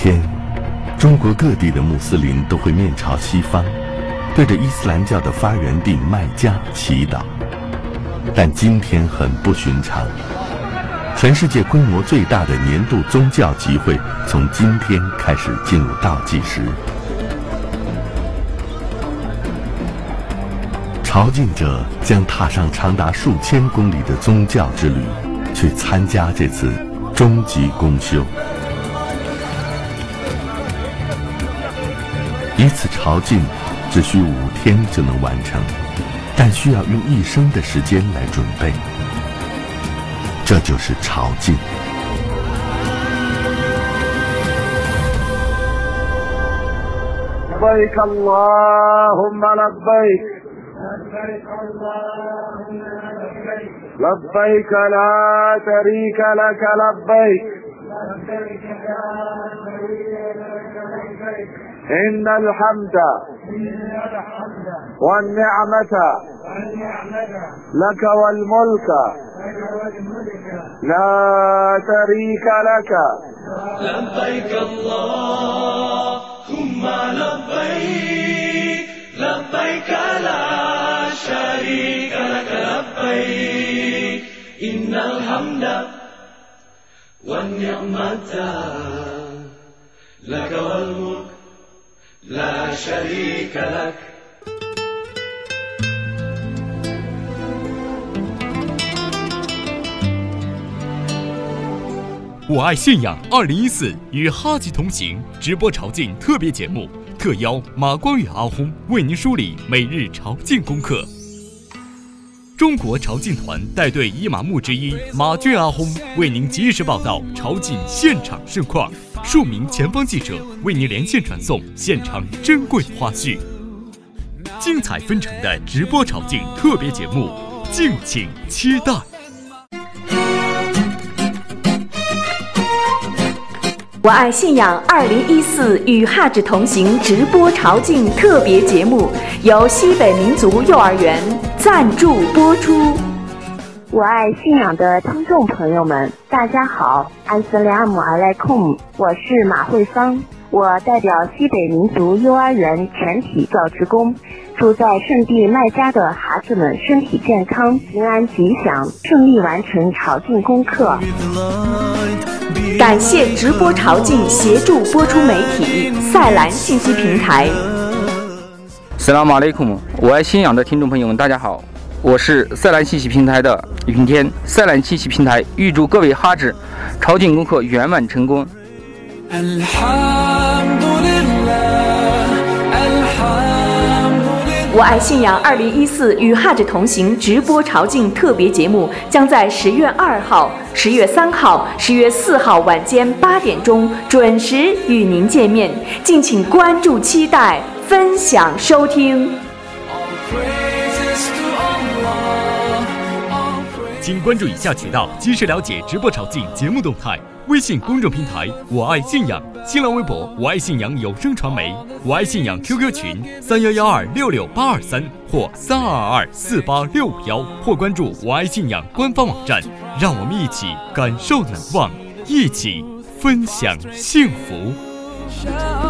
天，中国各地的穆斯林都会面朝西方，对着伊斯兰教的发源地麦加祈祷。但今天很不寻常，全世界规模最大的年度宗教集会从今天开始进入倒计时。朝觐者将踏上长达数千公里的宗教之旅，去参加这次终极公休。一次朝觐只需5天就能完成，但需要用一生的时间来准备。这就是朝觐。 لبيك اللهم لبيك لبيك لا شريك لك لبيك إن الحمد والنعمة لك والملك لا شريك لك لبيك اللهم لبيك لبيك لا شريك لك لبيك إن الحمد والنعمة لك والملك لا شريك لك。 我爱信仰2014与哈吉同行直播朝觐特别节目，特邀马光宇阿訇为您梳理每日朝觐功课。中国朝觐团带队伊玛目之一马俊阿訇为您及时报道朝觐现场盛况，数名前方记者为您连线传送现场珍贵花絮，精彩纷呈的直播朝觐特别节目，敬请期待。 我爱信仰2014与哈吉同行直播朝觐特别节目由西北民族幼儿园赞助播出。 我爱信仰的听众朋友们，大家好，安斯利阿姆阿莱控，我是马慧芳，我代表西北民族幼儿园全体教职工，祝在圣地麦加的孩子们身体健康、平安吉祥，顺利完成朝觐功课。 感谢直播朝觐协助播出媒体赛兰信息平台。 斯拉姆阿莱库，我爱信仰的听众朋友们，大家好，我是赛兰信息平台的云天。赛兰信息平台预祝各位哈吉朝觐功课圆满成功。 我爱信仰2014与哈吉同行直播朝觐特别节目将在10月2号、10月3号、10月4号晚间8点钟准时与您见面，敬请关注、期待、分享、收听。 请关注以下渠道，及时了解直播朝觐节目动态：微信公众平台我爱信仰，新浪微博我爱信仰有声传媒，我爱信仰 QQ 群3112668823或32224865，或关注我爱信仰官方网站。让我们一起感受难忘，一起分享幸福。